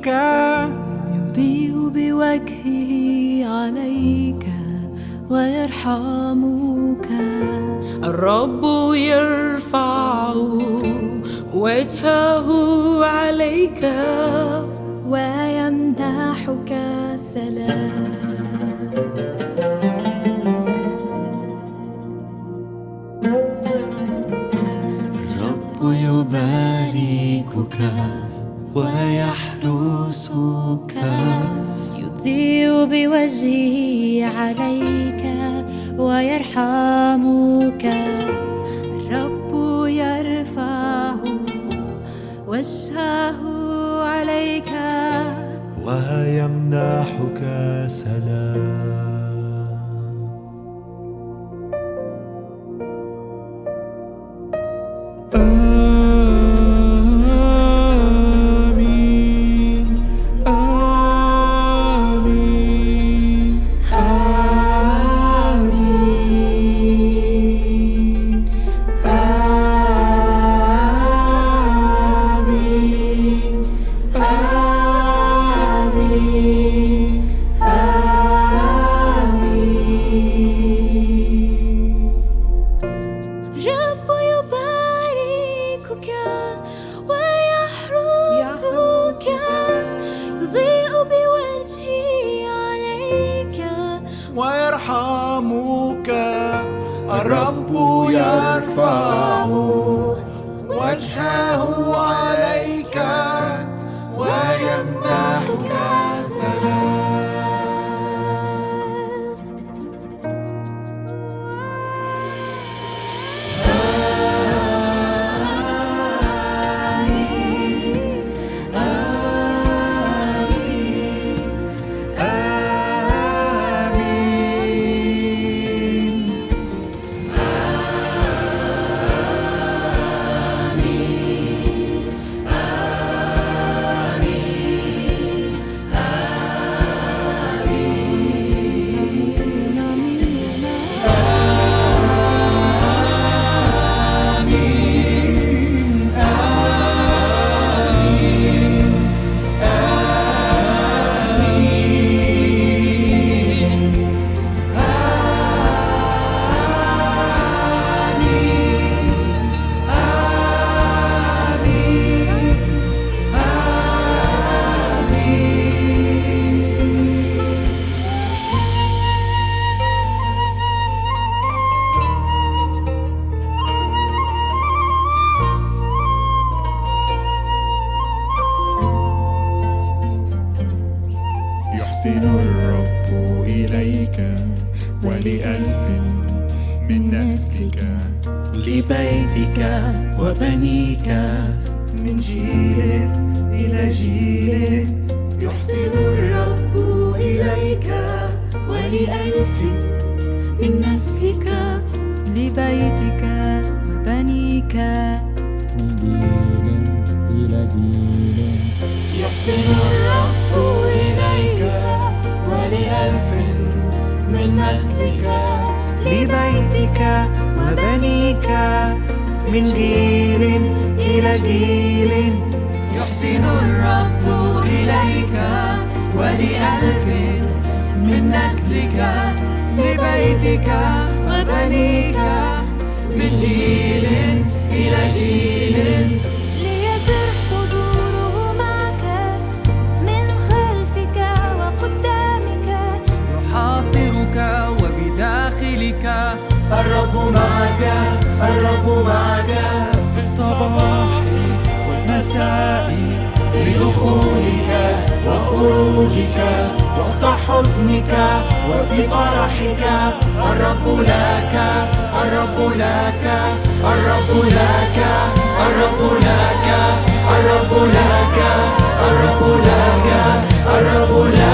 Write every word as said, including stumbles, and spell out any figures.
وجهك يضيء بوجهه عليك ويرحمك. الرب يرفع وجهه عليك ويمنحك سلام. الرب يباركك ويحرسك، يضيء بوجهه عليك ويرحمك. الرب يرفع وجهه عليك ويمنحك سلام. آمين آمين آمين آمين آمين آمين. الرب يباركك ويحرسك، يضيء بوجهه عليك ويرحمك. الرب يرفع وجهه عليك ويمنحك سلام. يحسن الرب إليك ولألف من نسلك، لبيتك وبنيك من جيل إلى جيل. يحسن الرب إليك ولألف من نسلك، لبيتك وبنيك من جيل إلى جيل. يحسن الرب إليك ولألف من نسلك، لبيتك وبنيك من جيل إلى جيل. يحسن الرب إليك ولألف من نسلك، لبيتك وبنيك من جيل إلى جيل. ليزر حضوره معك من خلفك وقدامك، يحاصرك وبداخلك. الرب معك الرب معك في الصباح والمساء، في دخولك وخروجك، وقت حزنك وفي فرحك. الرب لك الرب لك الرب لك الرب لك الرب لك الرب لك الرب لك